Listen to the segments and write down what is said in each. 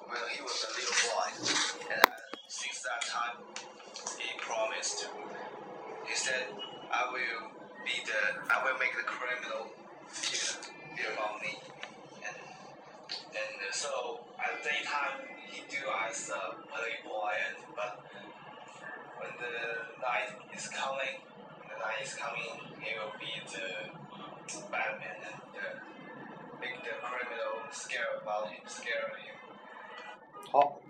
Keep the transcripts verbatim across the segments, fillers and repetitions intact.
when he was a little boy, and since that time, he promised. He said, "I will be the, I will make the criminal fear, fear about me." And and so at that time, he do as a playboy, and but when the night is coming, the night is coming, he will be the Batman and uh, make the criminal scared about him, scared of him. 好，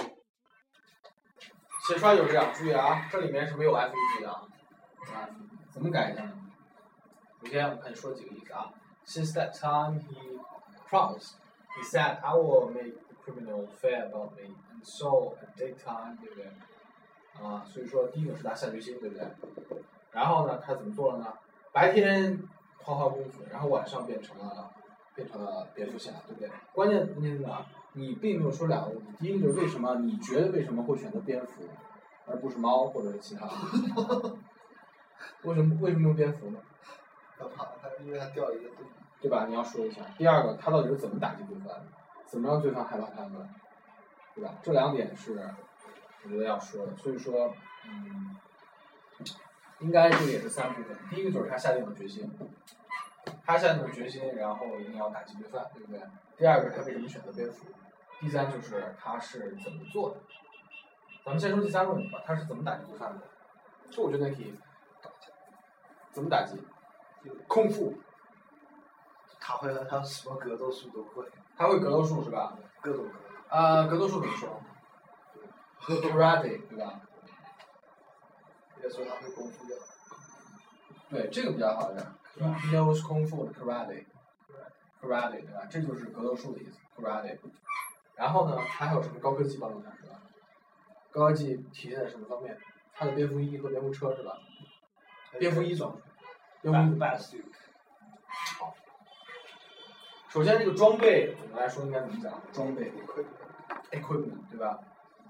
写出来就是这样，注意啊，这里面是没有 F E G 的啊，怎么改一下呢？首先我们看你说几个例子啊。Since that time he promised, he said, "I will make the criminal fear about me." And so at that time, 对不对？啊，所以说第一个是他下决心，对不对？然后呢，他怎么做了呢？白天花花公子，然后晚上变成了变成了蝙蝠侠，对不对？关键关键呢，你并没有说两个问题，第一个就是为什么你觉得为什么会选择蝙蝠，而不是猫或者是其他的？为什么为什么用蝙蝠呢？ 他怕他，因为他掉了一个洞， 对吧？你要说一下。第二个，他到底是怎么打击罪犯的？怎么让罪犯害怕他们？对吧？这两点是我觉得要说的。所以说，嗯，应该这个也是三部分。第一个就是他下定了决心，他下定了决心，然后一定要打击罪犯，对不对？第二个，他为什么选择蝙蝠？第三就是他是怎么做的？咱们先说第三个问题吧，他是怎么打击罪犯的？这我觉得可以怎么打击？空腹。 他会他什么格斗术都会。 他会格斗术是吧？ 各种格斗。 啊、呃，格斗术怎么说 ？Karate 对吧？ 也说他会功夫的。 对，这个比较好一点。He knows 功夫 Karate。Karate 对吧？这就是格斗术的意思 Karate。然后呢，他还有什么高科技帮助他是吧？高科技体现在什么方面？他的蝙蝠衣和蝙蝠车是吧？蝙蝠衣怎么？蝙蝠衣 Bat suit。 好。首先，这个装备总的来说应该怎么讲？装备 equipment 对吧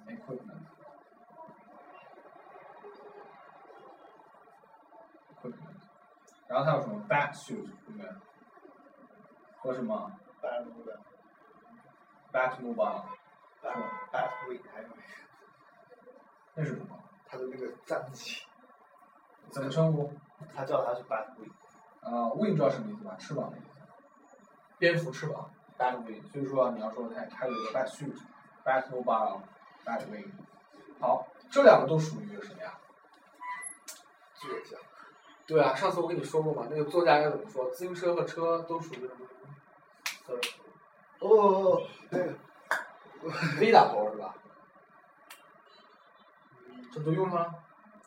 ？equipment。equipment。然后它有什么 bat suit 对不对？和什么 Batmobile。 Batmobile。 是吧 ？Batwing 还有那是什么？ 他的那个战机。 怎么称呼？ 他叫他是 Batwing。 啊、呃、，wing 知道什么意思吧？翅膀的意思。蝙蝠翅膀 ，Batwing。所以说你要说它它有一个 bat suit、Batmobile、Batwing。好，这两个都属于什么呀？ 作家。 对啊，上次我跟你说过嘛，那个作家应该怎么说？自行车和车都属于什么？ 哦哦哦，那个 V 打头是吧？这都用上了。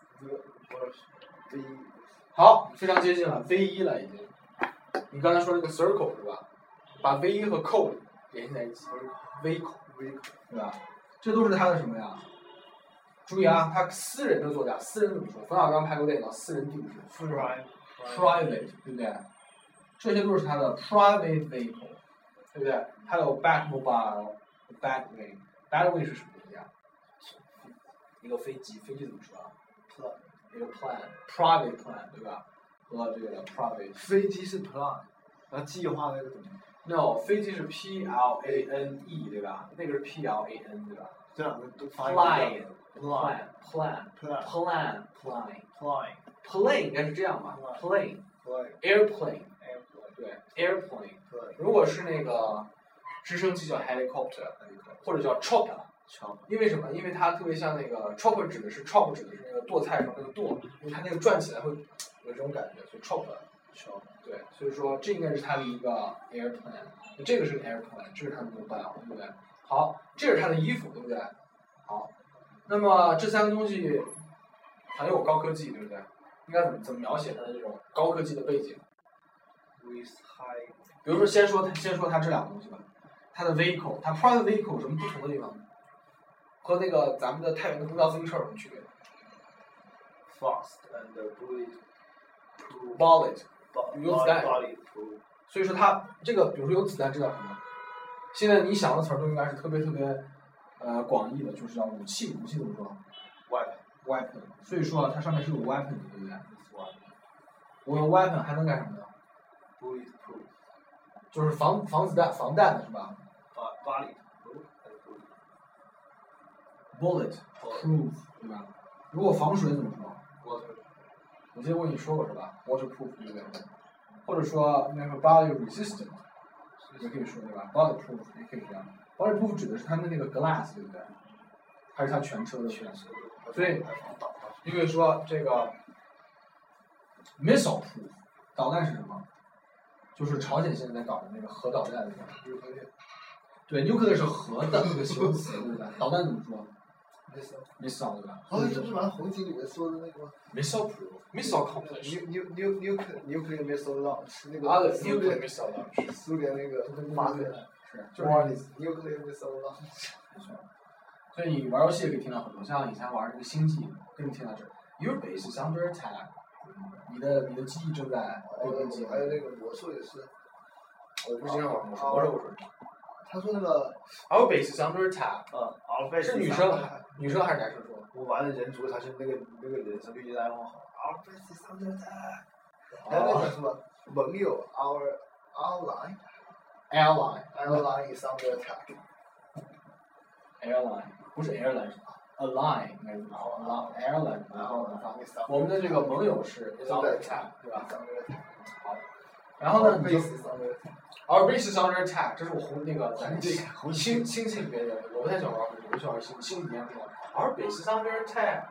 V。 好，非常接近了 V 一了已经。你刚才说那个 circle 是吧？把 V 一和 code 联系在一起 ，vehicle vehicle 对吧？这都是他的什么呀？注意啊，他私人的作家，私人怎么说？冯小刚拍过电影《私人定制》 ，private private 对不对？这些都是他的 private vehicle， 对不对？还有 Batmobile、Batwing，Batwing 是什么东西啊？一个飞机，飞机怎么说啊 plan， 一个 plan，private plan 对吧？和这个 private。 飞机是 plan， 然后计划那个怎么 ？No， 飞机是 P L A N E 对吧？那个是 P L A N 对吧？ 这两个都发音 Plane plan plan plan plan plane plan plane 应该是这样吧 ？plane plan airplane airplane 对 airplane。 对。 如果是那个直升机叫 helicopter， 或者叫 chopper。 chopper。 因为什么？因为它特别像那个 chopper 指的是 chop 指的是那个剁菜上那个剁，因为它那个转起来会有这种感觉，所以 chopper。chopper 对，所以说这应该是它的一个 airplane， 这个是个 airplane， 这是它的 mobile， 对不对？好，这是它的衣服，对不对？好，那么这三个东西很有高科技，对不对？应该怎么怎么描写它的这种高科技的背景 ？With high。 比如说，先说它，先说它这两个东西吧。它的 vehicle， 它 private vehicle 有什么不同的地方呢？和那个咱们的太原的公交自行车有什么区别 ？Fast and bullet bullet 有子弹。 所以说它这个，比如说有子弹，这叫什么？现在你想的词儿都应该是特别特别呃广义的，就是叫武器。武器怎么说 ？Weapon。 Weapon。所以说它上面是有 weapon 的，对不对？我有 weapon 还能干什么呢 ？Bulletproof。 就是防防子弹、防弹的是吧？ 把 bullet。 bullet proof 对吧？如果防水怎么说 water 我记得我跟你说过是吧 ？waterproof 对不对？或者说那个 body resistant 也可以说对吧 ？bulletproof 也可以这样。bulletproof 指的是它的那个 glass 对不对？还是它全车的全车？所以你可以说这个 missile proof 导弹是什么？就是朝鲜现在在搞的那个核导弹对吧？对 nuclear 是核的那个形容词对吧？导弹怎么说 ？missile 对吧？ 哦，这不是玩红警里面说的那个吗 ？missile proof，missile completion。 ？new new new nuclear missile launch 那个。 啊，对苏 ，nuclear 联 missile launch。 苏联那个发射。 是，就是 nuclear missile launch。 没错。所以你玩游戏也可以听到很多，像以前玩那个星际，跟你听到这 ，Your base is under attack， 你的你的基地正在被攻击。 还有那个魔术也是。 我不经常玩魔术，魔术我说。 他说那个 Our base is under attack。 嗯 ，Our base 是女生，女生还是男生说？ 我玩的人族他是那个那个人是绿叶大王好。Our base is under attack。还有那个什么盟友 ，Our ally。 Airline。 Airline is under attack。 Airline 不是 airline 是 align 应该是 airline， 然后呢，我们的这个盟友是 is under attack 对吧？好，然后呢，你就 Our base is under attack， 这是我红那个咱星星际里面的，我不太喜欢玩红，我喜欢玩星星里面说 Our base is under attack。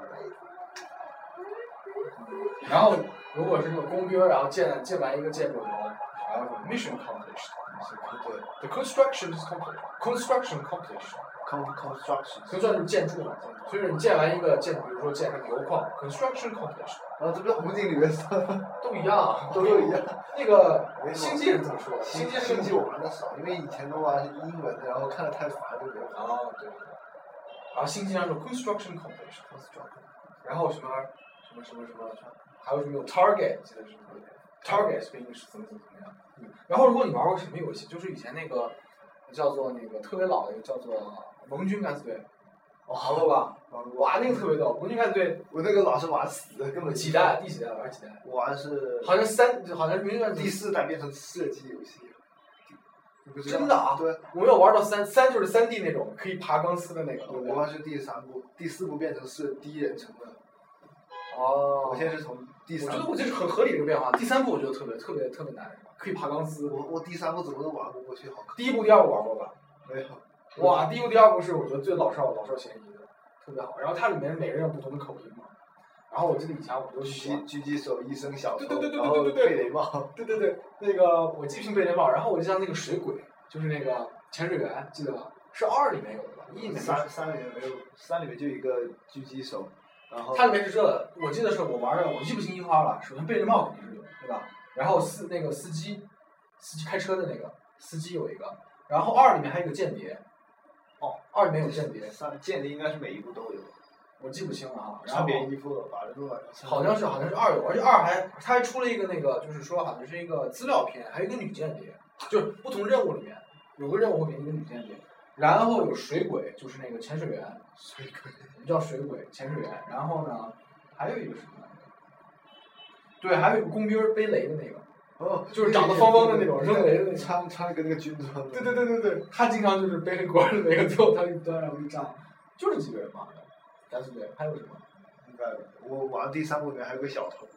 然后如果是那个工兵，然后建建完一个建筑以后，然后说 mission accomplished，the construction is complete，construction completion。 construction， construction 就是建筑嘛，所以你建完一个建筑，比如说建个油矿 ，construction completion。 啊，这不是红警里面说的， 都一样， 都一样。 那个星际人怎么说？ 星际星际我玩的少，因为以前都玩英文，然后看的太烦就没有。 哦，对对对。然后星际上说 construction completion， 然后什么什么什么什么，还有什么有 target， 记得是什么 ？target 对应是怎么怎么怎么样？嗯。然后如果你玩过什么游戏，就是以前那个叫做那个特别老的一个叫做盟军敢死队。哦，玩过吧？玩过。哇，那个特别逗！盟军敢死队， 我那个老是玩死的，根本几代？第几代玩几代？ 我玩是好像三，好像是盟军第四代变成射击游戏。 真的啊？ 对， 我没有玩到三，三就是三 D 那种可以爬钢丝的那个。 我玩是第三部，第四部变成是第一人称的。 哦。 我现在是从第三。 我觉得我这是很合理的一个变化。第三部我觉得特别特别特别难，是吧？可以爬钢丝。 我我第三部怎么都玩不过去，好。 第一部、第二部玩过吧？ 没有。 哇，第一部、第二部是我觉得最老少老少咸宜的，特别好。然后它里面每个人有不同的口音嘛。然后我记得以前我就喜欢狙击手、医生、小偷， 对对对对然后对对贝雷帽， 对对对，那个我记性贝雷帽，然后我就像那个水鬼，就是那个潜水员，记得吧？是二里面有的吧？一里面三三里面没有，三里面就一个狙击手，然后它里面是这的，我记得是我玩的，我记不清樱花了。首先贝雷帽肯定是有，对吧？然后司那个司机，司机开车的那个司机有一个，然后二里面还有一个间谍。哦，二里面有间谍。 三间谍应该是每一部都有。 我记不清了啊， 穿便衣服把人都晚上。 好像是好像是二有，而且二还他还出了一个那个，就是说好像是一个资料片，还有一个女间谍，就是不同任务里面有个任务会给你一个女间谍，然后有水鬼，就是那个潜水员， 水鬼， 叫水鬼潜水员，然后呢还有一个什么来着？对，还有一个工兵背雷的那个， 哦， 就是长得方方的那种扔雷的那种， 穿穿了个那个军装。 对对对对对，他经常就是背黑锅的那个，最后他一端然后一炸，就这几个人嘛。敢死队还有什么？ 应该我玩第三部里面还有个小偷。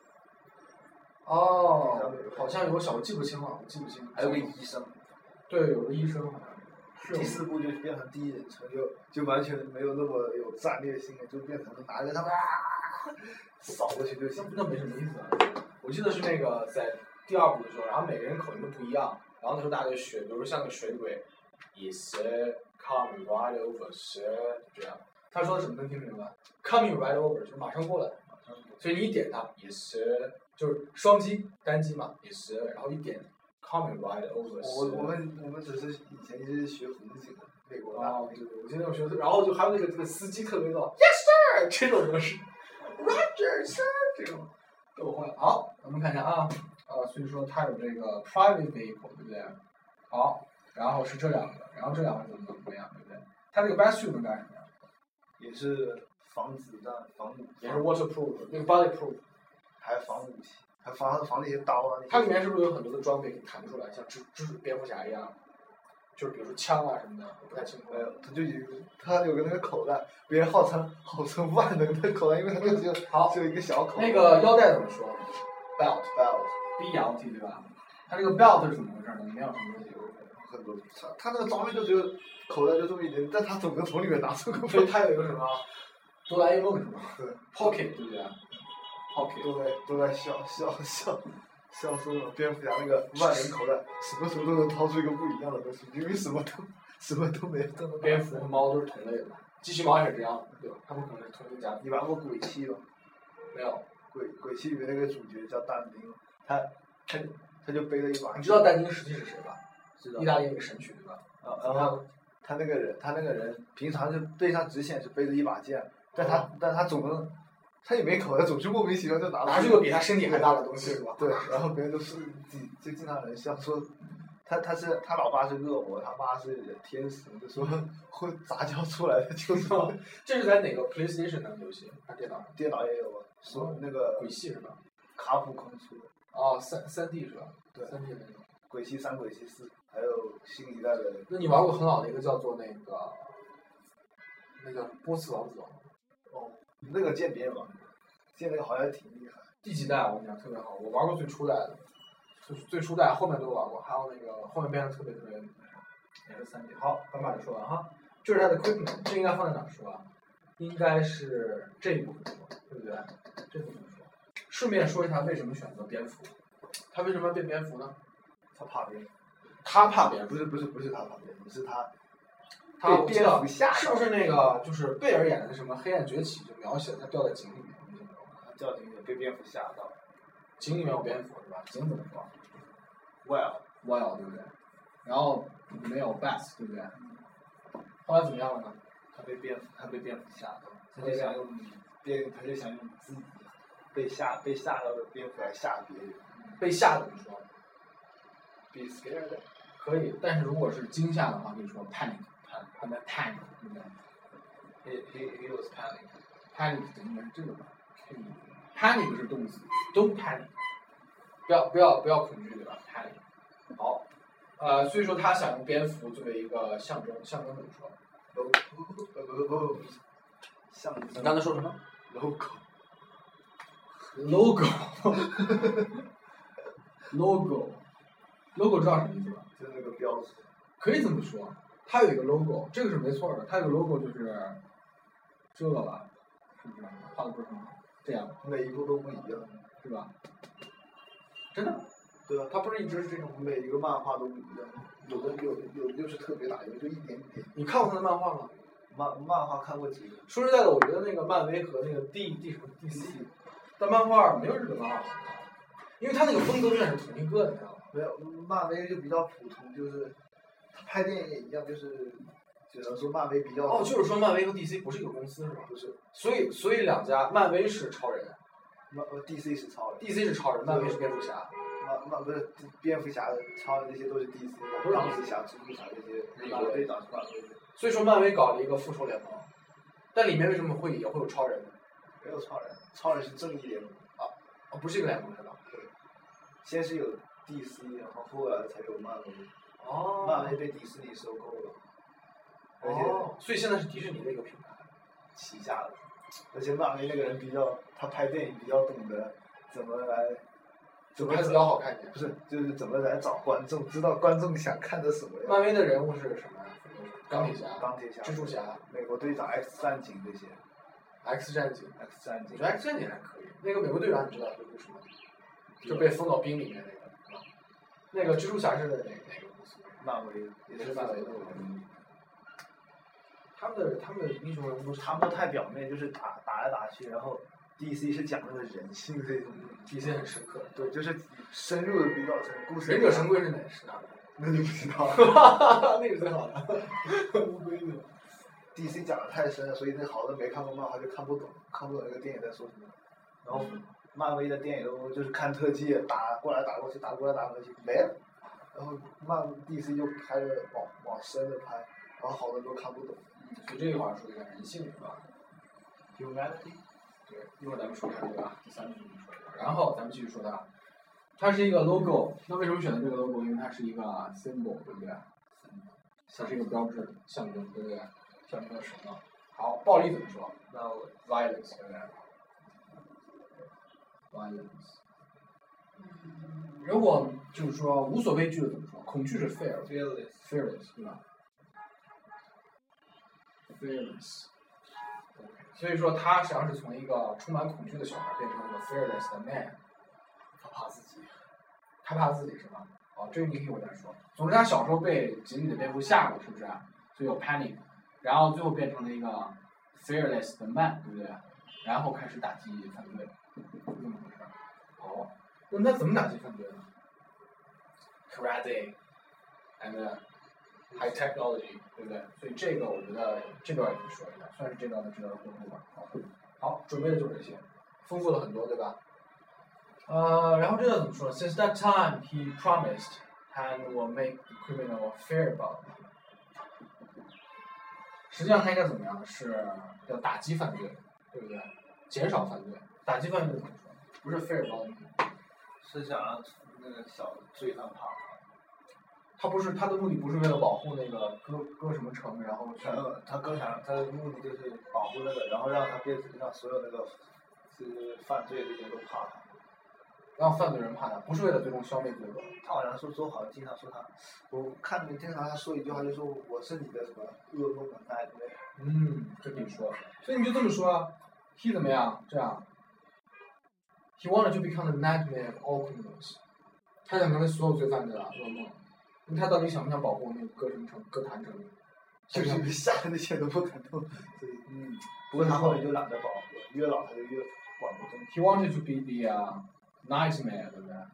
哦，好像有个小，我记不清了，我记不清。 还有个医生。对， 有个医生好像。 第四部就变成第一人称，就就完全没有那么有战略性了，就变成拿着他们啊扫过去就行。 那没什么意思啊。我记得是那个在第二部的时候，然后每个人口音都不一样，然后那时候大家就学，比如说像个水鬼 ，is coming right over， 是这样。他说的什么能听明白 ？Coming right over 就是马上过来，所以你一点它也是就是双击单击嘛，也是，然后一点 coming right over。 我我们我们只是以前一直学红警的美国的。 哦，对对，我记得我学的，然后就还有那个这个司机特别逗 ，Yes sir， 这种模式 ，Roger sir 这种都会。好，我们看一下啊，呃，所以说它有这个 private vehicle， 对不对？好，然后是这两个，然后这两个怎么怎么样，对不对？它这个 best suit 能干什么呀？ 也是防子弹、防武， 也是 waterproof， 那个 bodyproof， 还防武器，还防防那些刀啊。 它里面是不是有很多的装备可以弹出来，像蜘蜘蛛、蝙蝠侠一样？ 就是比如说枪啊什么的，我不太清楚。 没有，他就有他有个那个口袋，别人号称号称万能的口袋，因为他那个只有好只有一个小口袋。 那个腰带怎么说 ？belt belt b l t 对吧？它这个 belt 是怎么回事呢？里面有什么东西？ 很多，他他那个装备就只有口袋就这么一点，但他总能从里面拿出个。 所以它有一个什么哆啦 A 梦是吗？ 对 ，pocket 对不对 ？pocket 都在都在笑笑笑笑说了蝙蝠侠那个万能口袋，什么时候都能掏出一个不一样的东西，因为什么都什么都没有。 蝙蝠和猫都是同类的，机器猫也是这样的，对吧？它们可能是同一家。 你玩过鬼泣吗？ 没有。 鬼鬼泣里面那个主角叫但丁，他他他就背了一把。 你知道但丁实际是谁吧？ 知道。 意大利那个神曲对吧？ 啊，然后他那个人，他那个人平常就背上只显示背着一把剑，但他、嗯、但他总能，他也没口袋，总是莫名其妙就拿拿出个比他身体还大的东西是吧？ 对，然后别人都是就经常人笑说，他他是他老爸是恶魔，他妈是天使，就说会杂交出来的就是。 这是在哪个 PlayStation 的游戏？还是电脑上？ 电脑也有啊，说那个鬼泣是吧？ 卡普空出的。 哦，三三 D 是吧？ 对， 三 D 的那种。 鬼泣三、鬼泣四，还有新一代的。 那你玩过很老的一个叫做那个，那个波斯王子吗？ 哦，那个渐变吧，渐那个好像挺厉害。 第几代我跟你讲特别好，我玩过最初代的，最最初代后面都玩过，还有那个后面变得特别特别，也是三 D。好，咱把这说完哈，这是它的 equipment， 这应该放在哪儿说啊？应该是这一部分说，对不对？这部分说。顺便说一下为什么选择蝙蝠，他为什么要变蝙蝠呢？ 他怕蝙蝠。 他怕蝙蝠？ 不是不是不是他怕蝙蝠，是他。 他被蝙蝠吓。 是不是那个就是贝尔演的什么《黑暗崛起》就描写他掉在井里面？ 掉井里面被蝙蝠吓到。 井里面有蝙蝠是吧？井怎么说 ？Well well 对不对？然后没有 bass 对不对？后来怎么样了呢？ 他被蝙蝠他被蝙蝠吓到，他就想用蝙他就想用自己被吓被吓到的蝙蝠来吓别人。 被吓怎么说 ？Be scared。 可以，但是如果是惊吓的话，可以说 panic， 他在 panic， 对不对 ？He he he was panic。 panic 应该是这个吧 ？panic 是动词 ，don't panic， 不要不要不要恐惧对吧 ？panic。好，呃，所以说他想用蝙蝠作为一个象征，象征怎么说？ 不不不不，象征。 你刚才说什么 ？logo。 logo。logo。logo 知道什么意思吧？ 就是那个标志。 可以这么说，它有一个 logo， 这个是没错的。它有个 logo 就是这个吧，是不是？画的不是很好，这样。 每一部都不一样， 是吧？真的？ 对啊， 它不是一直是这种， 每一个漫画都不一样，有的有有的就是特别大，有的就一点点。 你看过他的漫画吗？ 漫漫画看过几个。 说实在的，我觉得那个漫威和那个 D D 什么 D C， 但漫画没有日本漫画好看，因为他那个风格永远是同一个，你知道吗？ 没有，漫威就比较普通，就是他拍电影也一样，就是只能说漫威比较。 哦，就是说漫威和 D C 不是一个公司是吧？ 不是。 所以所以两家，漫威是超人， 漫 D C 是超人 ，D C 是超人，漫威是蝙蝠侠。 漫漫不是蝙蝠侠的、超人这些都是 D C 的，钢铁侠、蜘蛛侠这些，美国队长是漫威的。 所以说漫威搞了一个复仇联盟，但里面为什么会也会有超人呢？ 没有超人，超人是正义联盟。 啊，哦，不是一个联盟是吧？ 对。先是有 D C， 然后后来才有漫威。 哦。 漫威被迪士尼收购了。而且。 哦。所以现在是迪士尼的一个品牌。 旗下的。而且漫威那个人比较，他拍电影比较懂得怎么来。 怎么拍的比较好看一点？ 不是，就是怎么来找观众，知道观众想看的什么呀？ 漫威的人物是什么呀？钢铁侠、 钢铁侠、 蜘蛛侠、 美国队长、X 战警这些。 X 战警 ，X 战警。 我觉得 X 战警还可以。那个美国队长你知道是故事吗？就被封到冰里面那个。那个蜘蛛侠是哪哪个公司？ 漫威， 也是漫威的。他们的他们的英雄人物都是他们太表面，就是打打来打去，然后 D C 是讲那个人性这种 ，D C 很深刻。 对，就是深入的比较深。故事。 忍者神龟是哪是哪个？ 那就不知道了。那个最好的。乌龟的。 D C 讲的太深了，所以那好多没看过漫画就看不懂，看不懂那个电影在说什么。然后漫威的电影都就是看特技，打过来打过去，打过来打过去没了。然后漫 D C 就拍了往往深的拍，然后好多都看不懂。 所以这句话说一下人性是吧 ？Humanity。 对，一会儿咱们说一下对吧？第三部分说一下，然后咱们继续说它，它是一个 logo， 那为什么选择这个 logo？ 因为它是一个 symbol， 对不对？ 它是一个标志象征，对不对？象征什么？好，暴力怎么说？那 violence 对不对 ？violence。如果就是说无所畏惧的怎么说？恐惧是 fear，fearless fearless 对吧 ？fearless。所以说他实际上是从一个充满恐惧的小孩变成了一个 fearless 的 man。 他怕自己， 他怕自己是吧？哦，这个你可以我再说。总之，他小时候被紧紧的蝙蝠吓过，是不是？所以有 panic， 然后最后变成了一个 fearless 的 man， 对不对？然后开始打击犯罪，是这么回事。好，那那怎么打击犯罪呢 ？Karate and high technology， 对不对？所以这个我觉得这段也可以说一下，算是这段的值得回顾吧。好，好，准备的就是这些，丰富了很多，对吧？呃，然后这个怎么说 ？Since that time, he promised and will make the criminal fear about him。实际上他应该怎么样？是要打击犯罪，对不对？减少犯罪，打击犯罪怎么说？不是 fear about him， 是想让那个小罪犯怕他。 他不是他的目的不是为了保护那个割割什么城，然后去。 呃，他更想他的目的就是保护那个，然后让他变成让所有那个是犯罪的人都怕他。 让犯罪人怕他，不是为了最终消灭罪恶。 他好像说说好像经常说他，我看你经常他说一句话就说我是你的什么噩梦的那一类。 嗯，这可以说，所以你就这么说啊 ，he 怎么样？这样 ，he wanted to become the nightmare of all criminals。他想成为所有罪犯的噩梦。那他到底想不想保护那个歌什城、歌坛城？ 就是被吓得那些都不敢动。所以，嗯，不过他后面就懒得保护，越老他就越管不动。 He wanted to be the、uh, nightmare， 对不对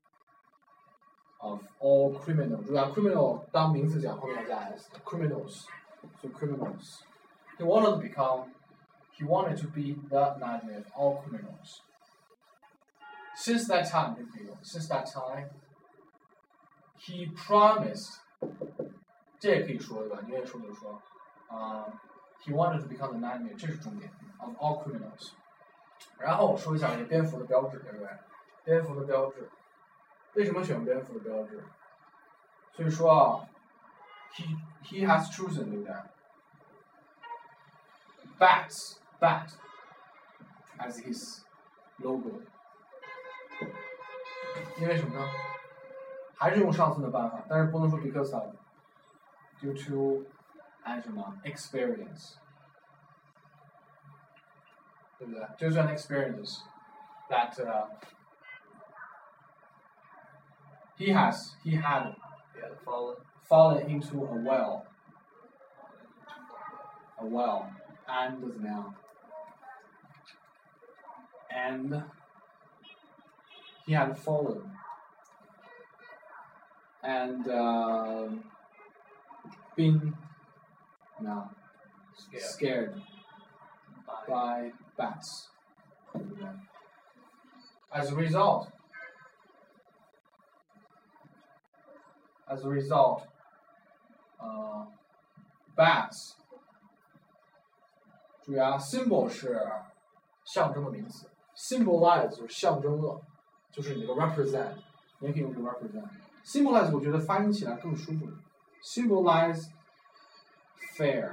？Of all criminals， 对吧 ？criminal 当名词讲后面加 s，criminals， 所以 criminals。He wanted to become, he wanted to be the nightmare of all criminals. Since that time, since that time, he promised， 这也可以说对吧？你愿意说就说。啊、uh, ，he wanted to become the nightmare， 这是重点 of all criminals。然后说一下这蝙蝠的标志，对不对？蝙蝠的标志，为什么选蝙蝠的标志？所以说啊 ，he he has chosen， 对不对 ？Bats bat as his logo， 因为什么呢？还是用上次的办法，但是不能说 because of due to and 什么 experience， 对不对？就是 an experience that、uh, he has he had Yeah, fallen fallen into a well a well and 怎么样 and he had fallen and、uh, been no, scared, scared by bats. As a result, as a result, uh, bats 注意啊 symbol 是象征的名词 symbolize 就是象征了，就是你的 represent， 你也可以用这个 represent。symbolize 我觉得发音起来更舒服 symbolize fair，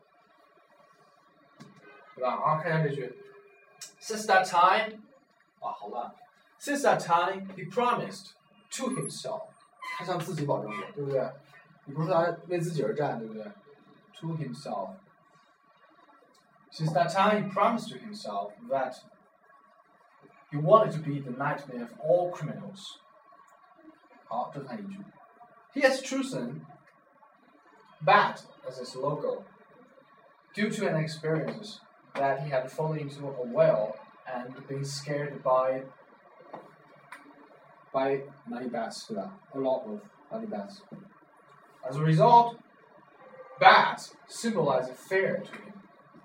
对吧？然后看一下这句 since that time， 哇好烂 since that time he promised to himself， 他向自己保证过，对不对？你不是说他为自己而战，对不对 to himself since that time he promised to himself that he wanted to be the nightmare of all criminals。 好，这看一句 he has chosen bat as his logo due to an experience that he had fallen into a well and been scared by by many bats, a lot of many bats. As a result, bats symbolize fear to him.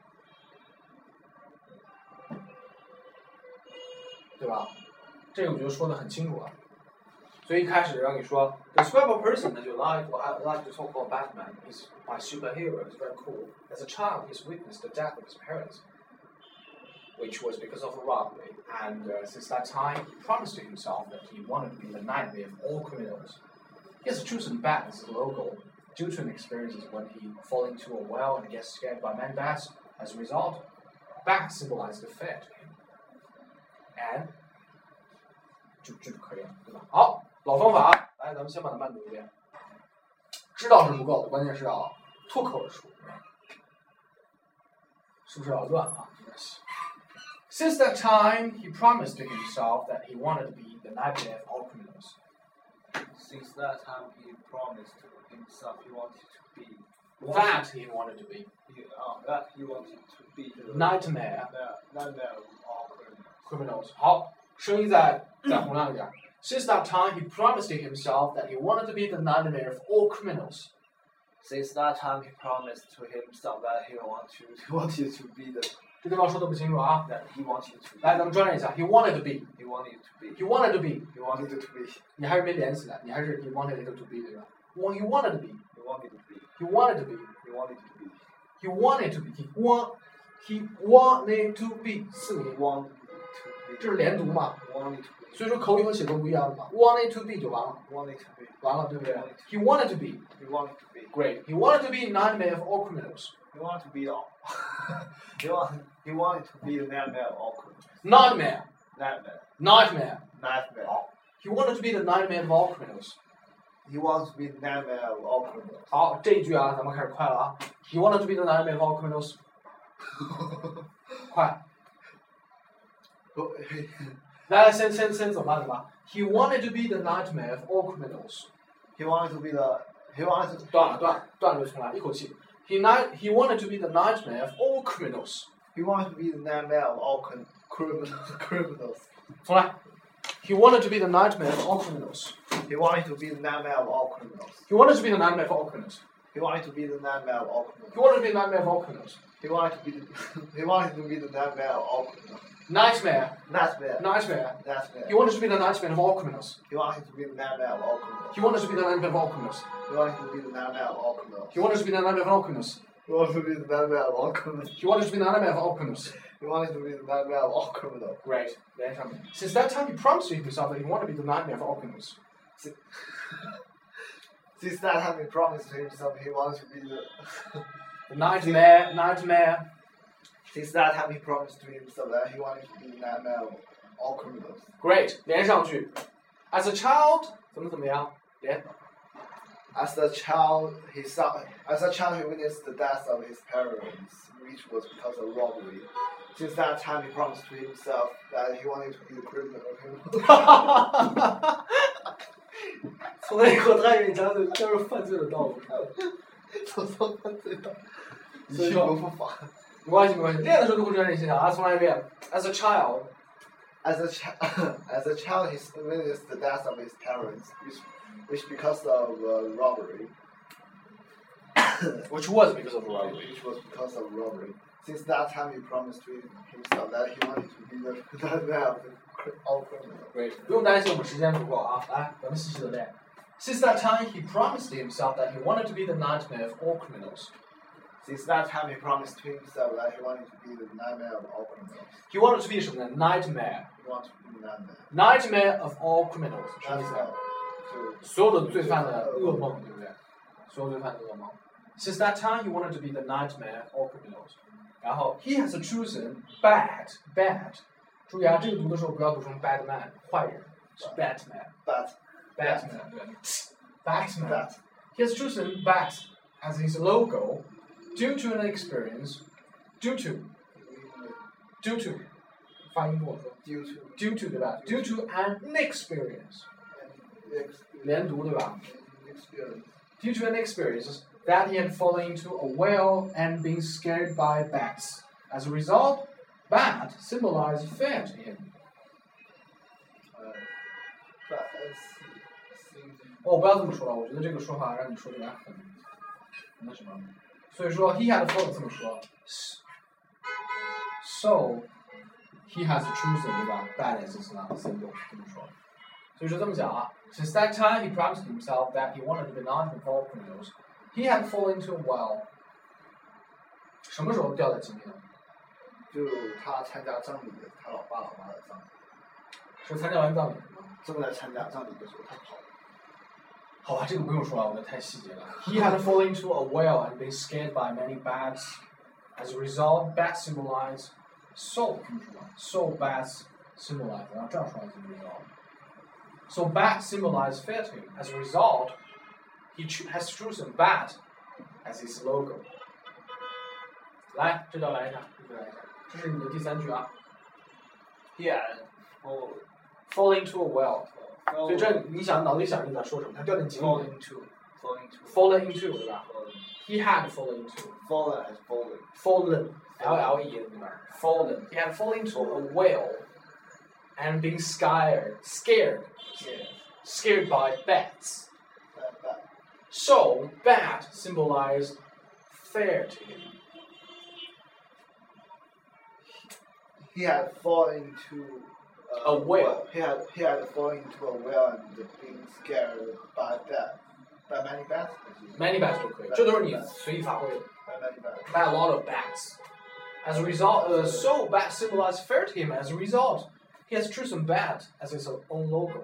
对吧？这个我觉得说得很清楚了。所以一开始让你说 describe a person that you like, well, I like to talk about Batman. He's my superhero. He's very cool. As a child, he's witnessed the death of his parents, which was because of a robbery. And uh, since that time, he promised to himself that he wanted to be the nightmare of all criminals. He has chosen Bat as his logo due to an experience when he fall into a well and gets scared by many bats. As a result, bat symbolizes the fear to him. And 就这就可以了，对吧？好，老方法，来，咱们先把它慢读一遍。知道是不够的，关键是要脱口而出，是不是要乱啊？没关系。Since that time, he promised to himself that he wanted to be the nightmare of all criminals. Since that time, he promised to himself he wanted to be. That he wanted to be. He, uh, that he wanted to be the Nightmare. The nightmare of all criminals. Criminals. 好，声音再再洪亮一点。Since that time, he promised to himself that he wanted to be the nightmare of all criminals. Since that time, he promised to himself that he wanted to, he wanted to be the. 这地方说的不清楚啊。 That he wanted to. 来，咱们专业一下。He wanted to be. He wanted to be. He wanted to be. He wanted to be. 你还是没连起来，你还是 he wanted to be 对吧 ？Well, he wanted to be. He wanted to be. He wanted to be. He wanted to be. He wanted to be. He want. He wanted to be 四个 He 音， wanted to be. 这是连读嘛？ Wanted to be. 所以说口语和写作不一样的嘛。Wanted to be 就完了， Wanted to be. 完了，对不对 ？He wanted to be. He wanted to be. Great. He wanted to be nightmare of all criminals. He wanted to be all. he wanted. He wanted to be the nightmare of all criminals. Nightmare. Nightmare. Nightmare. Nightmare. He wanted to be the nightmare of all criminals. He wants to be the nightmare of all criminals. 好，这一句啊，咱们开始快了啊。He wanted to be the nightmare of all criminals. 快，来来，先先先怎么办？怎么办 ？He wanted to be the nightmare of all criminals. He wanted to be the. He wanted to. 断了，断了，断了就重来，一口气。He night. He wanted to be the nightmare of all criminals. He wanted to be the nightmare of all crim- criminals. criminals. 重来。He wanted to be the nightmare of all criminals. He wanted to be the nightmare of all criminals. He wanted to be the nightmare of all criminals. He wanted to be the nightmare of all criminals. He wanted to be the nightmare of all criminals. He wanted to be the. he wanted to be the nightmare of all criminals. Nightmare. Nightmare. Nightmare. Nightmare. He wanted to be the nightmare of all criminals. He wanted to be the nightmare of all criminals. He wanted to be the nightmare of all criminals. He wanted to be the nightmare of all criminals. He wanted to be the nightmare of all criminals. He wanted to be the nightmare of all criminals. He wanted to be the nightmare of all criminals. He wanted to be the nightmare of all criminals. Great. Since that time, he promised to himself that he wanted to be the nightmare of all criminals. Since that time, he promised to himself he wanted to be the. The nightmare, nightmare. Since that time, he promised to himself that he wanted to be the nightmare of all criminals. Great. 连上去。As a child, 怎么怎么样？连。 As a child, he saw. As a child, he witnessed the death of his parents, which was because of robbery. Since that time, he promised to himself that he wanted to be the criminal. 从那以后，他给你讲的都是犯罪的道路。 走走犯罪道。 所以说不复法。 没关系，没关系，练的时候都会这样练习的啊！重来一遍。As a child, as a child, as a child, he witnessed the death of his parents, which, which because of uh, robbery. Which was because of robbery. Which was because of robbery. Since that time, he promised to himself that he wanted to be the nightmare of all criminals. Great. 不用担心，我们时间不够啊！来，咱们细细的练。Since that time, he promised to himself that he wanted to be the nightmare of all criminals. Since that time, he promised to himself that he wanted to be the nightmare of all criminals. He wanted to be 什么呢 ？Nightmare. He wanted to be the nightmare. Nightmare of all criminals. 什么意思？ To 所有的罪犯的噩梦，对不对？所有罪犯的噩梦。Since that time, he wanted to be the nightmare of all criminals. 然后 he has chosen bad, bad. 注意啊，这个读的时候不要读成 bad man， 坏人，是 Batman. Bat. Batman. 对 Batman. Bat. He has chosen bat as his logo due to an experience. Due to. Due to. 发音跟我说。 Due to. Due to 对吧 ？Due to an experience. 连读对吧 Experience. Due to an experience that he had fallen into a well and been scared by bats. As a result, bat symbolized fear to him. 呃 Bat. 哦，不要这么说了，我觉得这个说法让你说起来很很那什么。所以说 he had fallen 这么说 ，so he has chosen 对吧 ？Bad as his symbol 这么说。所以说这么讲啊 ，Since that time he promised himself that he wanted to be not of all criminals. He had fallen into a well. 什么时候掉在井里呢？ 就他参加葬礼，他老爸老妈的葬礼。 是参加完葬礼吗？ 正在参加葬礼的时候，他跑了。 好吧，这个不用说了，我们太细节了。He had fallen into a well and been scared by many bats. As a result, bats symbolize soul. 听说吗 ？So bats symbolize， 然后这样说就知道了。So bats symbolize fear to him. As a result, he has chosen bat as his logo. 来，这道来一下，这道来一下，这是你的第三句啊。 He had fallen Fall into a well. 所以这你想脑子里想你在说什么？他掉进井里 fallen 面。 into fallen into Fallen into 对吧 fallen ？He had fallen into. fallen as fallen Fallen. L L E 对吧 ？Fallen. He had fallen into a well and been scared, scared, yeah scared by bats. that that So bat symbolized fear to him. he had fallen into A whale. He had he had fallen into a well and been scared by that by many bats. Many bats 都可以，这都是你随意发挥的。 By many bats. By a lot of bats. As a result, uh, so bat symbolized fear to him. As a result, he has chosen bat as his own logo.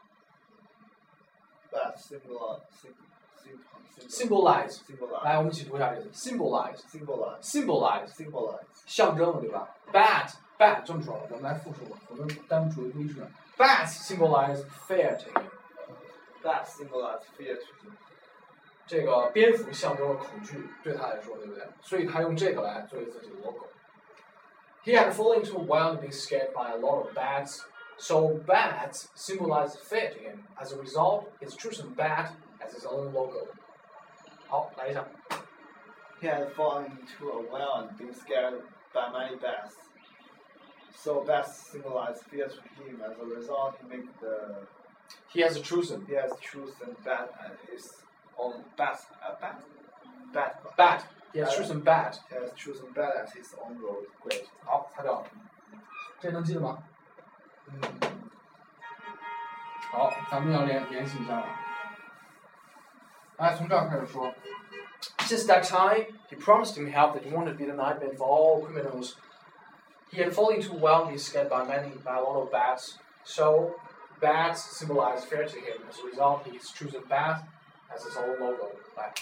Bats symbolize symbolize Symbolize. symbolize 来，我们一起读一下这个 symbolize. symbolize Symbolize. symbolize 象征的，对吧 ？Bat, bat 这么说，我们来复述吧，我们单独读一次。Bats symbolize fear to him. bats symbolize fear to him. 这个蝙蝠象征了恐惧，对他来说，对不对？所以他用这个来作为自己的 logo. He had fallen into a well and been scared by a lot of bats. So bats symbolize fear to him. As a result, he's chosen bat as his own logo. 好，来一下。 He had fallen into a well and been scared by many bats. So bats symbolize fear to him. As a result, he made the He has chosen he has chosen bat as his own bat. Uh, bat, bat. bat. He has chosen bat. He has chosen bat as his own role. Great. 好，擦掉了。这能记得吗？ 嗯， 好，咱们要联联系一下了。来，从这儿开始说。Since that time, he promised him help that he wanted to be the nightmare for all criminals. He had fallen into a well and been scared by many, by a lot of bats. So, bats symbolize fear to him. As a result, he's chosen bat as his own logo. 来，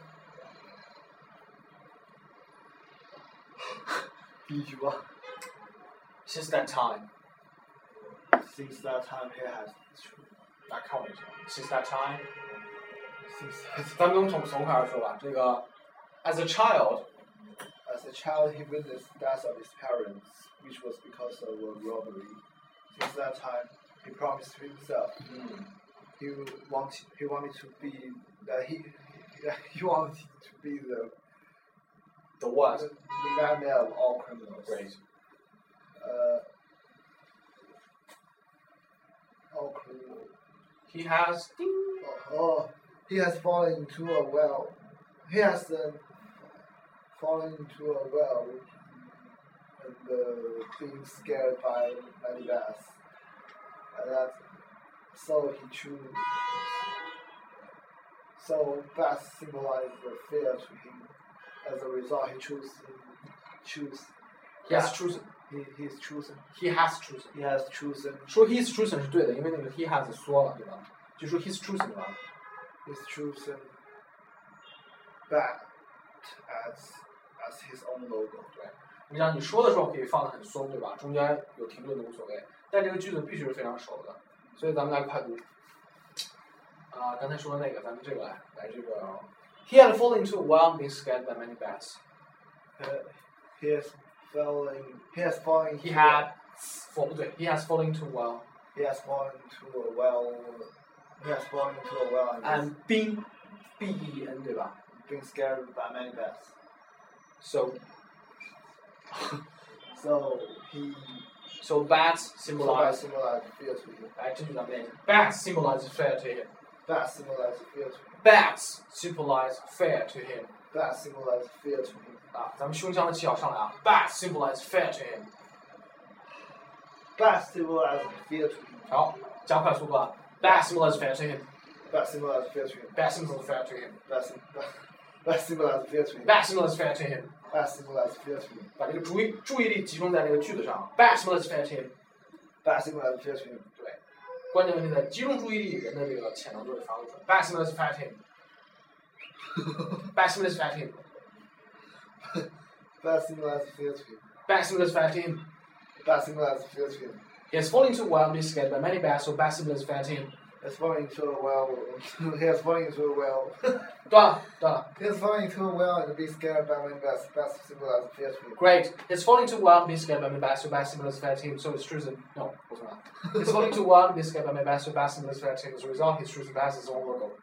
第一句话。 Since that time, Since that time, he has 来看我一下。Since that time, since that 咱们从从开始说吧。这个 ，as a child, as a child, he witnessed the death of his parents, which was because of a robbery. Since that time, he promised to himself he wanted he wanted to be that he he wanted to be the the what? the, the nightmare of all criminals. Great. Uh, all criminals. He has. Oh, he has fallen into a well. He has uh, fallen into a well and uh, being scared by many bats. And that, so he chose. So bats symbolize the fear to him. As a result, he chose. Choose. He has chosen. He he's chosen. He has chosen. He has chosen. 说 he's chosen 是对的，因为那个 he has 缩了，对吧？就说 he's chosen 对吧？ He's chosen bat as as his own logo. 对，你想你说的时候可以放的很松，对吧？中间有停顿都无所谓，但这个句子必须是非常熟的，所以咱们来快读。啊、刚才说的那个，咱们这个来来这个。He had fallen into a well and been scared by many bats. Uh, he has fallen. He has fallen. He into had fall 不对 ，he has fallen into a well He has fallen into a well. He has fallen into a well and and been b e n 对吧 been scared by many bats. ？So So he so bats so symbolize bats symbolize fear to him. 来这句咱们练一下。Bats symbolize fear to him. Bats symbolize fear to him. Bats symbolize fear to him. Bats symbolize fear to him. 啊，咱们胸腔的气要上来啊。Bats symbolize fear to him. Bats symbolize fear to him. 好，加快速度啊。Bats symbolize fear to him. Bats symbolize fear to him. Bats symbolize fear to him. Bats Bats symbolize fear to him. Bats symbolize fear to him. Bats symbolize fear to him. 把这个注意注意力集中在这个句子上。Bats symbolize fear to him. Bats symbolize fear to him. 对， 关键问题在集中注意力，人的这个潜能就会发挥出来。Bad stimulus affect him. Bad stimulus affect him. Bad stimulus affect him. Bad stimulus affect him. Bad stimulus affect him. He has fallen into a well and been scared by many bats, so bad stimulus affect him. He has fallen into a well. He has fallen into a well. 断了，断了。 He has fallen into a well and been scared by many bats. Bad stimulus affect him. Great. He's falling into a well and been scared by many bats, so bad stimulus affect him. So it's chosen. No, 不是吧 He's falling into a well and been scared by many bats, so bad stimulus affect him. As a result, he's chosen bats as his own logo.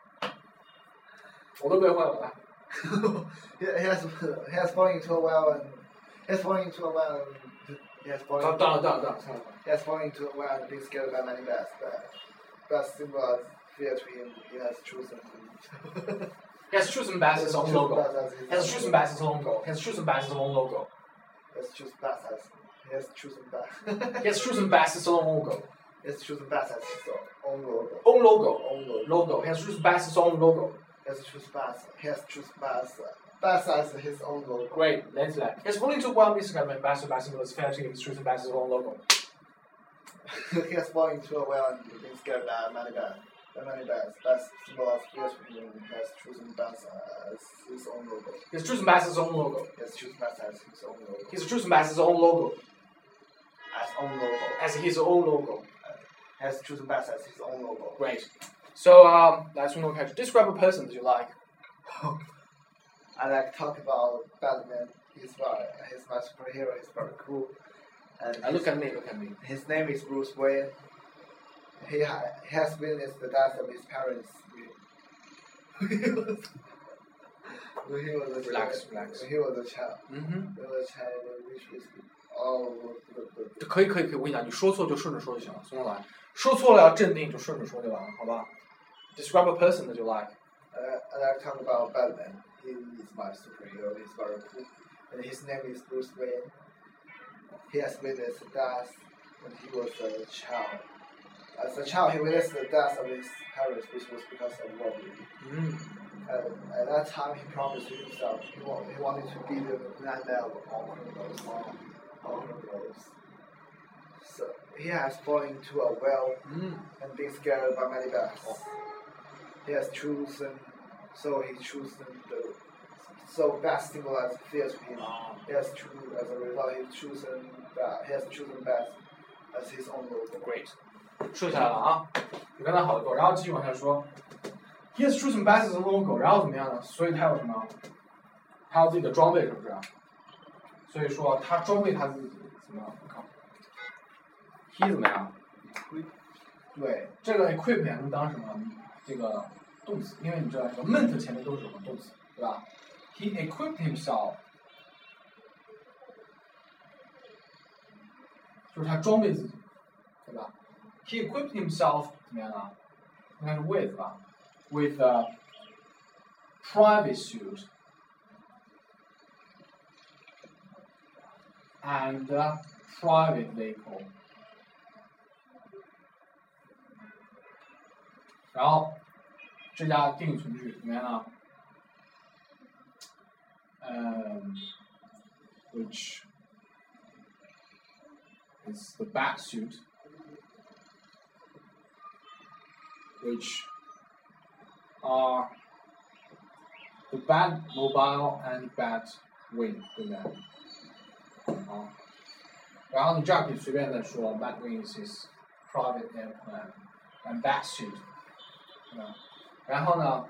我都背会了，来。 he, he has he has fallen into a well and he has fallen into a well and he has fallen. 断了，断了，断了，算了。 He has fallen into a well and been scared by many bats. But bad stimulus affect him. He has chosen. He has chosen bats as his own logo. He has chosen bats as his own logo. He has chosen bats as his own logo. He has chosen bats as he has chosen bats. He has chosen bats as his own logo. He has chosen bats as his own logo. Own logo. Own logo. Logo. He has chosen bats as his own logo. He has chosen bats. He has chosen bats. Bats as his own logo. Great. Let's like. He has fallen into a well and been scared by bats, so bad stimulus affect him. He's chosen bats as his own logo. He has fallen into a well and been scared by many bats. By many bats. Bats symbolizes fear to him. He has chosen bats as his own logo. He has chosen bats as his own logo. He has chosen bats as his own logo. He's chosen bats as his own logo. As own logo. As his own logo. He has chosen bats as his own logo. Great. So um, let's move on. Describe a person that you like. I like to talk about Batman. He's very, he's my superhero. He's very cool. And Uh, look at me. Look at me. his name is Bruce Wayne. He, ha he has witnessed the death of his parents when he was, when he was a Relax, child. relax. When he was a child. 嗯哼。 When he was a child, which is oh, the, the, 可以可以可以，我跟你讲，你说错就顺着说就行了，从头来。说错了要镇定，就顺着说就完了，好吧 ？Describe a person that you like. uh, I like to talk about Batman. He is my superhero. He's very cool. And his name is Bruce Wayne. He has witnessed the death when he was a child. As a child, he witnessed the death of his parents, which was because of robbery. 嗯 And at that time, he promised to himself he, wa- he wanted to be the nightmare of all criminals. All criminals. So he has fallen into a well 嗯 and been scared by many bats. He has chosen, so he chosen the, so bats symbolize fear to him. 啊 He has chosen, as a result, he chosen that he has chosen bats as his own logo. ，Great，说下来了啊，比刚才好得多。然后继续往下说 ，He has chosen bats as a logo，然后怎么样呢？所以他有什么？他有自己的装备，是不是？所以说他装备他自己怎么样？我看 ，He 怎么样？对，这个 equip 也能当什么？这个动词，因为你知道这个 meant 前面都是什么动词，对吧 ？He equipped himself， 就是他装备自己，对吧 ？He equipped himself 怎么样呢？应该是 with 吧 ？With a private suit and a private vehicle。然后这加定语从句怎么样呢？嗯、which is the bat suit, which are the Batmobile and Batwing， 对不对？好，然后你这样可以随便再说 ，Batwing is his private airplane and bat suit。嗯，然后呢，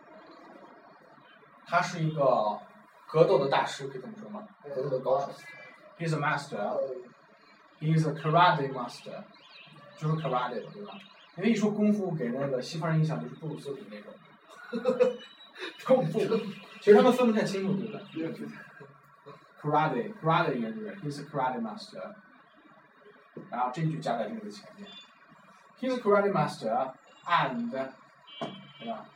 他是一个格斗的大师，可以这么说吗？格斗的高手。He's a master. He's a karate master. 就是 karate 对吧？因为一说功夫，给那个西方人印象就是布鲁斯比那种。功夫，其实他们分不太清楚，对吧 ？Karate, karate 应该是 He's a karate master. 然后这句加在这个前面。He's a karate master and 对吧？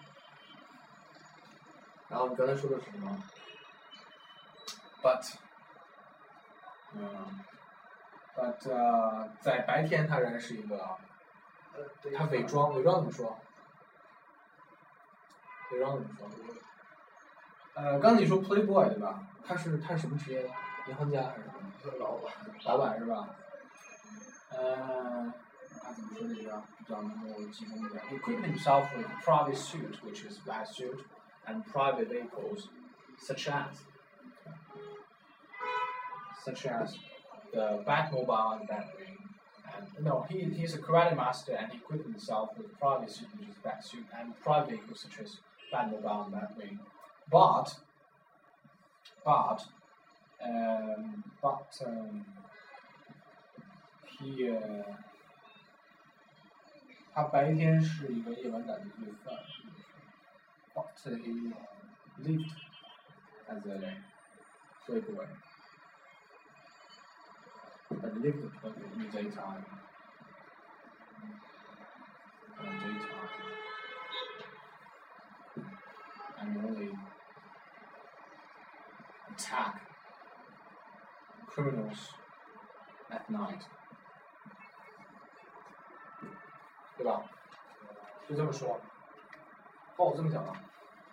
然后你刚才说的是什么 ？But， 嗯 ，but 呃，在白天他仍然是一个，他伪装，伪装怎么说？伪装怎么说？呃，刚才你说 playboy 对吧？他是他是什么职业？银行家还是什么？ 老板。 老板是吧？呃该怎么说这个比较能够集中一点 ？He equipped himself with a private suit, which is black suit, and private vehicles, such as such as the Batmobile and Batwing. And no, he he's a karate master and he equipped himself with a private suit, which is black suit, and private vehicles such as Batmobile and Batwing. But but um, but um, he uh, 他白天是一个夜晚党的罪犯 ，but he lived as a playboy. But lived in the daytime. In the daytime. And only attack criminals at night. 对吧？就这么说。哦，我这么讲啊。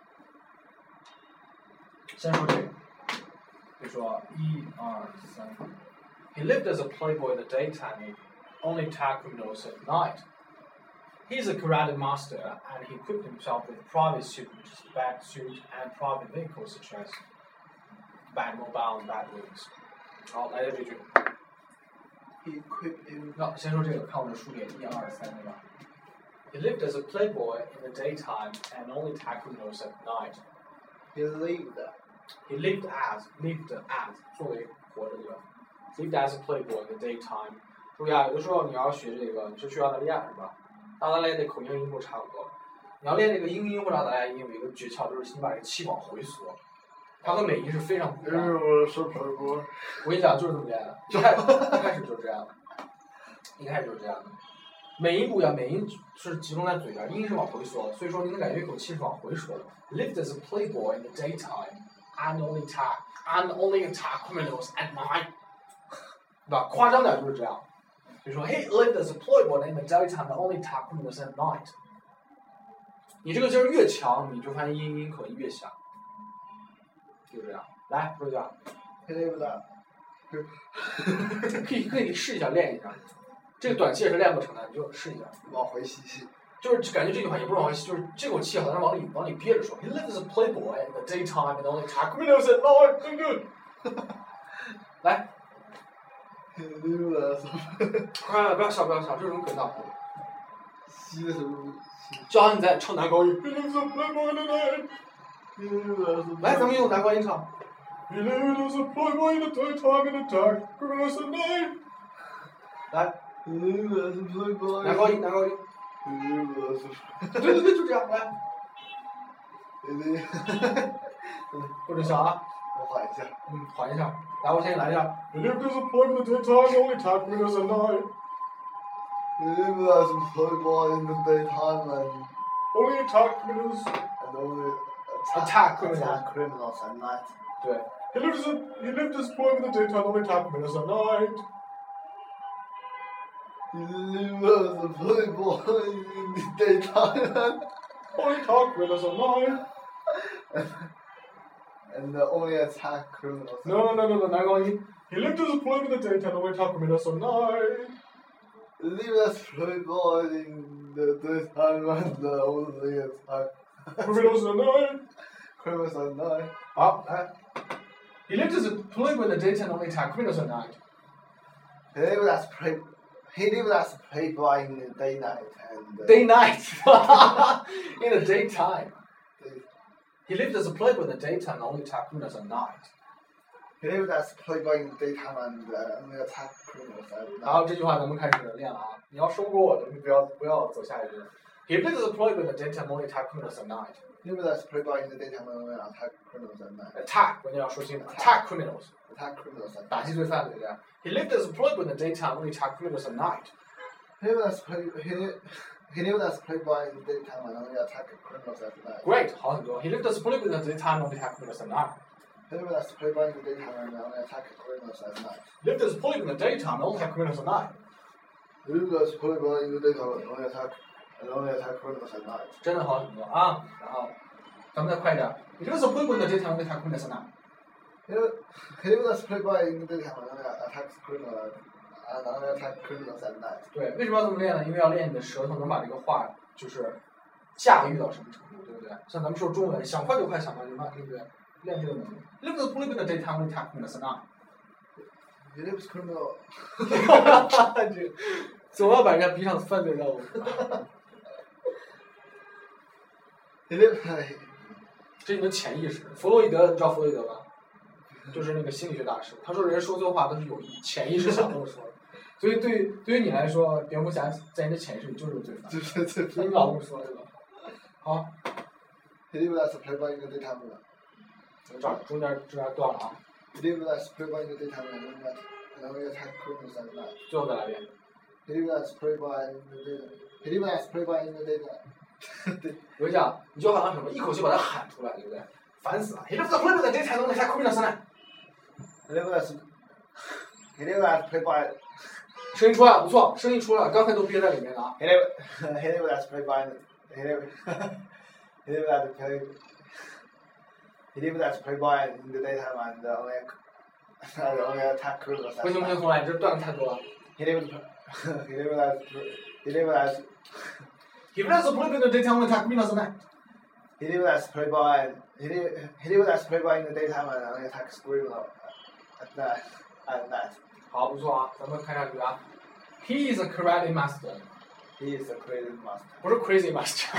先说这个，就说一二三。He lived as a playboy in the daytime and only attacked criminals at night. He's a karate master and he equipped himself with a private suit, which is a bat suit, and private vehicles such as Batmobile and Batwings. 好，来这句。 He equipped him. 那先说这个，看我的书列一二三，对吧 ？He lived as a playboy in the daytime and only attacked criminals at night. He lived. He lived as lived as 作为活着对吧 ？Lived as a playboy in the daytime. 注意啊，有的时候你要学这个，你是去澳大利亚是吧？澳大利亚的口音音部差不多。你要练这个英音或者澳大利亚音，有一个诀窍，就是你把这个气往回缩，它和美音是非常不一样的。我跟你讲，就是这么练的，一开一开始就是这样的，一开始就是这样的。美音不一样，美音是集中在嘴边，音是往回缩，所以说你能感觉一口气是往回缩的。Lived as a playboy in the daytime and only attack and only attack criminals at night. 对吧？夸张点就是这样。比如说 ，He lived as a playboy in the daytime and only attacked criminals at night. 你这个劲儿越强，你就发现音音口音越响。就这样，来说一下。 He lived as. 可以可以试一下练一下，这个短期也是练不成的，你就试一下。 往回吸气。 就是感觉这句话也不是往回吸，就是这口气好像往里往里憋着说。He lived as a playboy in the daytime and only attacked criminals at night. 真good. 来。快不要笑不要笑，这种梗道。 吸的时候。 就好像你在唱男高音。来，咱们用男高音唱。He lived as a playboy in the daytime and attacked criminals at night. 来。男高音男高音。对对对，就这样来。或者笑啊。 我缓一下。 嗯，缓一下。来，我先来一下。He lived as a playboy in the daytime and only attacked criminals at night. He lived as a playboy in the daytime and only attacked criminals and only attack criminals attack criminals at night. 对。He lived as a he lived as a playboy in the daytime and only attacked criminals at night. He lived as a playboy in the daytime and only attacked criminals at night. And uh, only attack criminals. No, no, no, no,男高音。He lived as a playboy in the daytime and only attacked criminals at night. He lived as a playboy in the daytime and uh, only attack criminals at night. Criminals at night. 好，来。He lived as a playboy in the daytime and only attacked criminals at night. He lived as play. He lived as a playboy in the day night and. Uh, day night. In the daytime. He lived as a playboy in the daytime and only attacked criminals at night. He lived as a playboy in the daytime and uh, only attacked criminals at night. 然后这句话咱们开始练了啊！你要收过我的，你不要不要走下一句。He lived as a playboy in the daytime and only attacked criminals at night. He lived as a playboy in the daytime and only attacked criminals at night. Attack 关键要说清楚 ，attack criminals. Attack criminals at night. 打击罪犯对不对 ？He lived as a playboy in the daytime and only attacked criminals at night. He lived as play he he lived as a playboy in the daytime and only attacked criminals at night. Great， 好很多。He lived as a playboy in the daytime and only attacked criminals at night. He lived as a playboy in the daytime and only attacked criminals at night. Lived as a playboy in the daytime and only attacked criminals at night. He lived as a playboy in the daytime and only attacked and only attacked criminals at night. 真的好很多啊！然后咱们再快一点。He lived as a playboy in the daytime and only attacked criminals at night. He lived, he lived as a playboy in the daytime and only attacked criminals And only attack criminals at night. 对，为什么要这么练呢？因为要练你的舌头能把这个话就是驾驭到什么程度，对不对？像咱们说中文，想快就快，想慢就慢，对不对？练这个能力。Live the live the daytime only attack criminals at night. He lives criminal. 这总要把人家逼上犯罪任务。 He lives. 这是你的潜意识。弗洛伊德，你知道弗洛伊德吧？就是那个心理学大师，他说人说错话都是有意，潜意识想这么说的。所以对对于你来说，蝙蝠侠在你的潜意识里就是个罪犯。 就是罪犯。你老这么说对吧？好。 He lives as a playboy in the daytime. 这儿中间这边断了啊。 He lives as a playboy in the daytime and only attack criminals at night. 最后再来一遍。 He lives as a playboy in the daytime. He lives as a playboy in the daytime. 我跟你讲，你就好像什么，一口气把它喊出来，对不对？烦死了。He lives as a playboy in the daytime and only attack criminals at night. He lives as He lives as a playboy. 声音出来了，不错，声音出来了，刚才都憋在里面的啊。 He lives He lives as a playboy. He lives He lives as a play. He lives as a playboy in the daytime and only and only attack criminals at night. 不行不行，重来，这段子太多了。 He lives He lives as He lives as He lives as a playboy in the daytime and attack criminals at night. He lives as a playboy. He lives He lives as a playboy in the daytime and only attacks criminals at night. At night. 好，不错啊，咱们看下去啊。He is a karate master. He is a crazy master. 不是 crazy master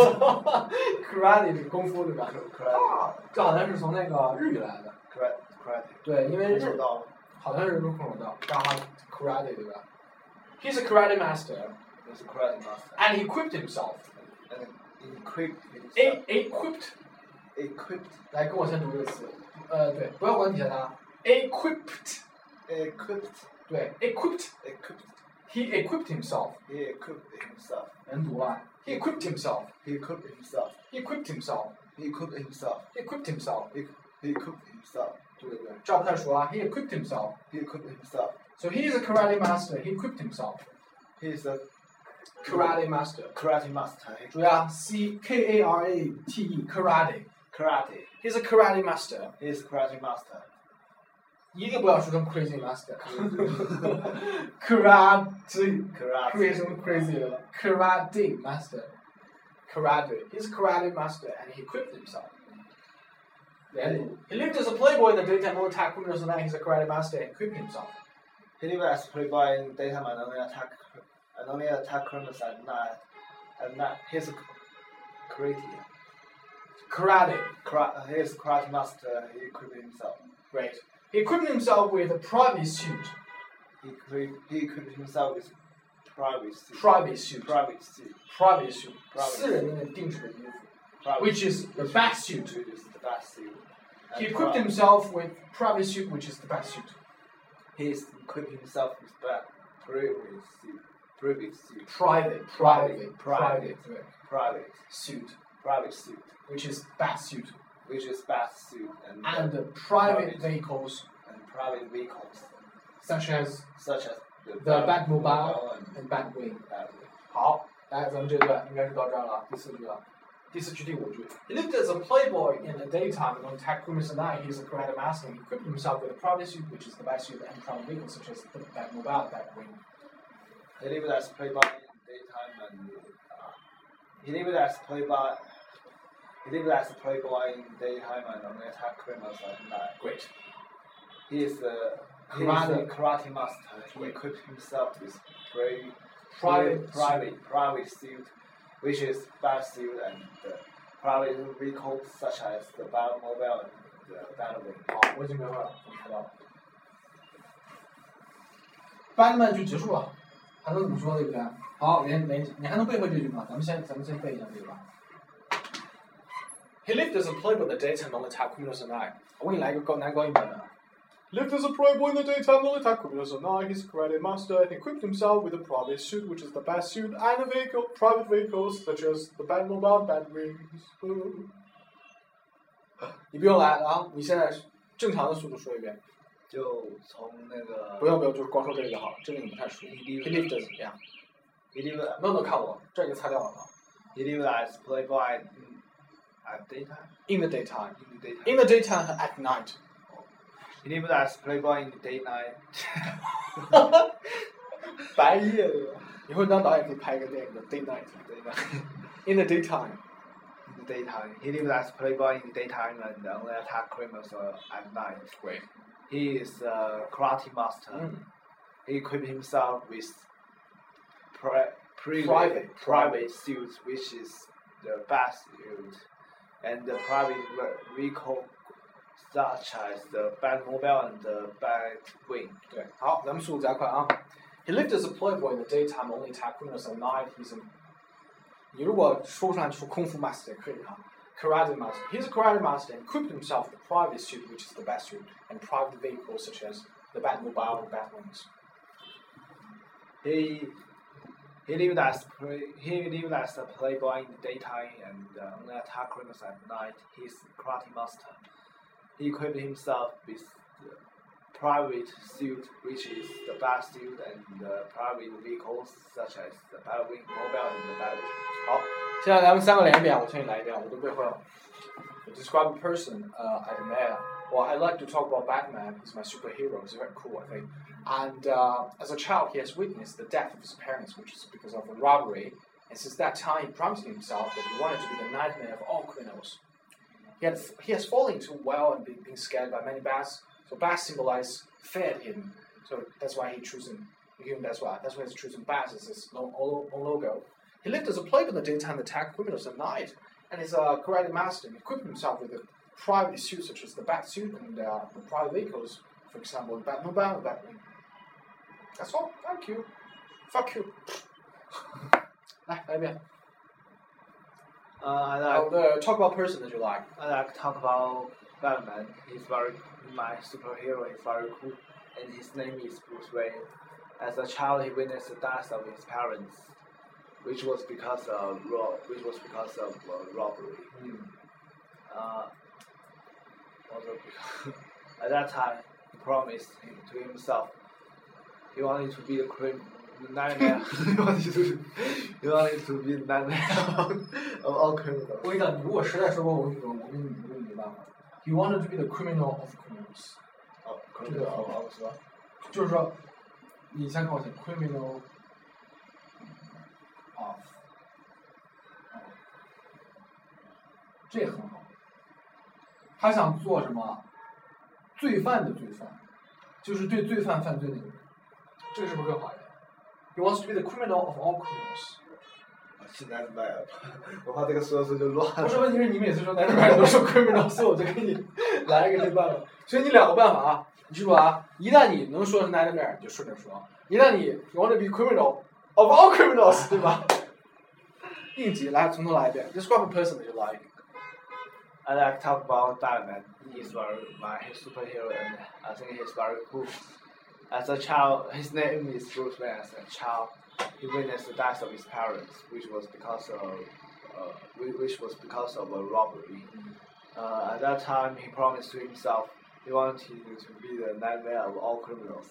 。karate 是功夫对吧？ Karate. 这好像是从那个日语来的。 Karate. Karate. 对，因为日好像是空手道，嘎 karate 对吧 ？He's a karate master. He's a karate master. And he equipped himself. And equipped himself. A equipped. Equipped. 来，跟我先读这个词。呃，对，不要管底下的啊。Equipped. Equipped. 对 ，equipped. Equipped. He equipped himself. He equipped himself. 能读吧 ？He equipped himself. He equipped himself. He equipped himself. He equipped himself. He equipped himself. He he equipped himself. 对对对，这不太熟啊。He equipped himself. He equipped himself. So he is a karate master. He equipped himself. He is a Karate master. karate master. 注意啊 ，C K A R A T E karate. Karate. He's a karate master. He is a karate master. 一定不要说成 crazy master. karate. Karate. crazy 什么 crazy 的 ？Karate master. Karate. He's a karate master and he equipped himself. Then he lived as a playboy in the daytime, only attack criminals at night. He's a karate master and equipped himself. He lived as a playboy in daytime and only attack and only attack criminals at night. At night, he's a karate. Karate. Kara- he is a karate master. He equipped himself. Great. He equipped himself with a private suit. He equipped, he equipped himself with private suit. Private suit. Private suit. Private suit. Private 私人的那定制的衣服 Private which is the bat suit. suit is the best suit. He And equipped private- himself with private suit, which is the bat suit. He is equipped himself with that private suit. Private suit. Private, private, Private. private, right. Private. suit, Private suit. which is bat suit, Which is best suit and, and the private Private. vehicles and private vehicles such as such as the, the Batmobile Batmobile and and Batwing. Batwing. 好，来，咱们这段应该是到这儿了，第四句了。第四句第五句。He lived as a playboy in the daytime and on attack criminals at night. He is a karate master. He equipped himself with a private suit, which is the bat suit, and private vehicles such as the Batmobile, Batwing. He lived as playboy in daytime and uh, he lived as playboy. He lived as a playboy in daytime and only attack criminals at night. Great. He is a he Karate. is a karate master. He equipped himself with brave, Private private private suit, which is bat suit and the private vehicles such as the Batmobile and the Batwing. 好，我已经明白了，我猜到了。Batman 就结束了，还能怎么说对不对？好，连连你还能背会这句吗？咱们先咱们先背一下这个吧。He lived as a playboy in the daytime, only attack criminals at night. 我给你来一个高男高音版的。Lived as a playboy in the daytime, only attack criminals at night. He's a karate master and equipped himself with a private suit, which is the bat suit, and a vehicle, private vehicles such as the Batmobile, Batwings. 你不用来啊！你现在正常的速度说一遍。 就从那个不用不用，就是光说这个就好了。这个你不太熟。He lived as 怎样 He lived ？No no，看我，这已经擦掉了啊。 he lived as playboy in, at daytime. In the daytime. In the daytime. In the daytime and at night. He lived as playboy in the daytime. 白夜的。 以后当导演可以拍一个电影叫《Daynight》，In the daytime. In the daytime, he lived as a playboy in the daytime and only attacked criminals at night. Great. He is a karate master. Mm. He equipped himself with pri- pri- Private. private suit, which is the best suit, and the private vehicle such as the Batmobile and the Batwing. 对，好，咱们速度加快啊。He lived as a playboy in the daytime, only attacked criminals at night. He's a 你如果说不上来就说功夫 master 也可以哈。Karate master. He's a karate master and equipped himself with a private suit, which is the best suit, and private vehicles such as the Batmobile and Batwings. He he lived as play, he lived as a playboy in the daytime and uh, only attacked criminals at night. He's a karate master. He equipped himself with the private suit, which is the best suit, and uh, private vehicles such as the Batwing Mobile and the Batwing. 好，现在咱们三个连一遍，我重新来一遍，我都背会了。Describe a person uh, I admire. Well, I like to talk about Batman. He's my superhero. He's very cool, I think. And uh, as a child, he has witnessed the death of his parents, which is because of a robbery. And since that time, he promised himself that he wanted to be the nightmare of all criminals. He, had, he has fallen into a well and been, been scared by many bats. So bats symbolize fear to him. So that's why he chosen him. That's why that's why he's choosing bats as his own logo. He lived as a playboy in the daytime, attacked criminals at night, and is a karate master. He equipped himself with a private suit such as the bat suit and uh, the private vehicles, for example, the Batmobile and Batwing. That's all. Thank you. Fuck you. 来，来一遍。 Uh, I Oh, like, the talk about person that you like. I like to talk about Batman. He's very my superhero. He's very cool, and his name is Bruce Wayne. As a child, he witnessed the death of his parents, which was because of ro- which was because of uh, robbery. Mm. Uh, also because at that time, he promised him, to himself he wanted to be the crim- the nightmare. he wanted to he wanted to be the nightmare of all criminals. 我跟你讲，你如果实在说过我这种，我跟你我跟你没办法。He wanted to be the criminal of criminals. 哦， 这个好好是吧？就是说，你先看我写 criminal of， 这很好。他想做什么？罪犯的罪犯，就是对罪犯犯罪的人。这个是不是更好一点 ？He wants to be the criminal of all criminals. 现在卖了，我怕这个说说就乱了。 不是，问题是你每次说男人版都说 criminal， 所以我就给你来一个这办法。所以你两个办法啊，你记住啊，一旦你能说是 nightmare， 你就顺着说；一旦你 you want to be criminal of all criminals， 对吧？应急，来从头来一遍。Describe a person that you like. I like to talk about Batman. He's very my superhero, and I think he's very cool. As a child, his name is Bruce Wayne. As a child, he witnessed the death of his parents, which was because of uh, which was because of a robbery. Uh, at that time, he promised to himself he wanted to be the nightmare of all criminals.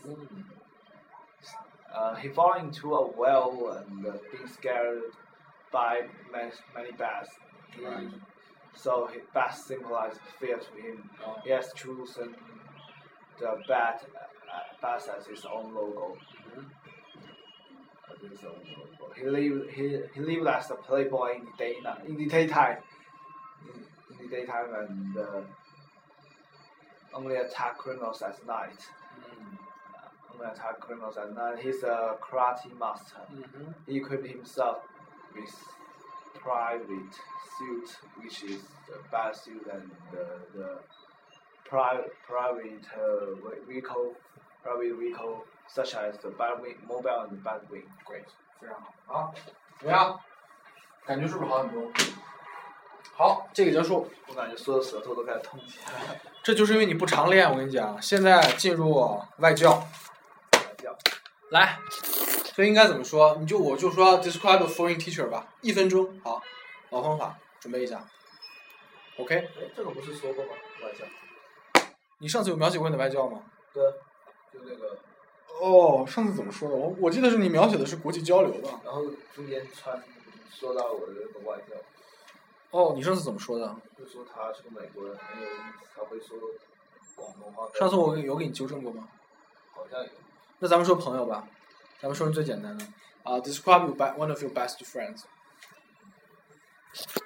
Uh, he fell into a well and uh, being scared by many, many bats. He, Right. So his bats symbolized fear to him. Oh. He has chosen the bat, uh, bat as his own logo. Mm-hmm. As his own logo. He lived he, he lived as a playboy in the day in the daytime. In, in the daytime and uh, only attack criminals at night. Mm. Uh, only attack criminals at night. He's a karate master. Mm-hmm. He equipped himself with private suit, which is the bat suit and the, the private private uh, vehicle, private vehicle such as the Batwing Mobile and the Batwing. Great， 非常好啊，怎么样？感觉是不是好很多？好，这个结束。 我感觉说的舌头都开始痛起来了。 这就是因为你不常练，我跟你讲。现在进入外教， 外教， 来，所以应该怎么说？你就我就说 describe a foreign teacher 吧，一分钟，好，老方法，准备一下。OK。 哎，这个不是说过吗？外教。 你上次有描写过你的外教吗？ 对，就那个。 哦，上次怎么说的？我我记得是你描写的是国际交流的。 然后中间穿说到我的那个外教。 哦，你上次怎么说的？ 就说他是个美国人，很有意思，他会说广东话。 上次我有给你纠正过吗？ 好像有。 那咱们说朋友吧。 咱们说最简单的啊、uh, ，describe your one of your best friends。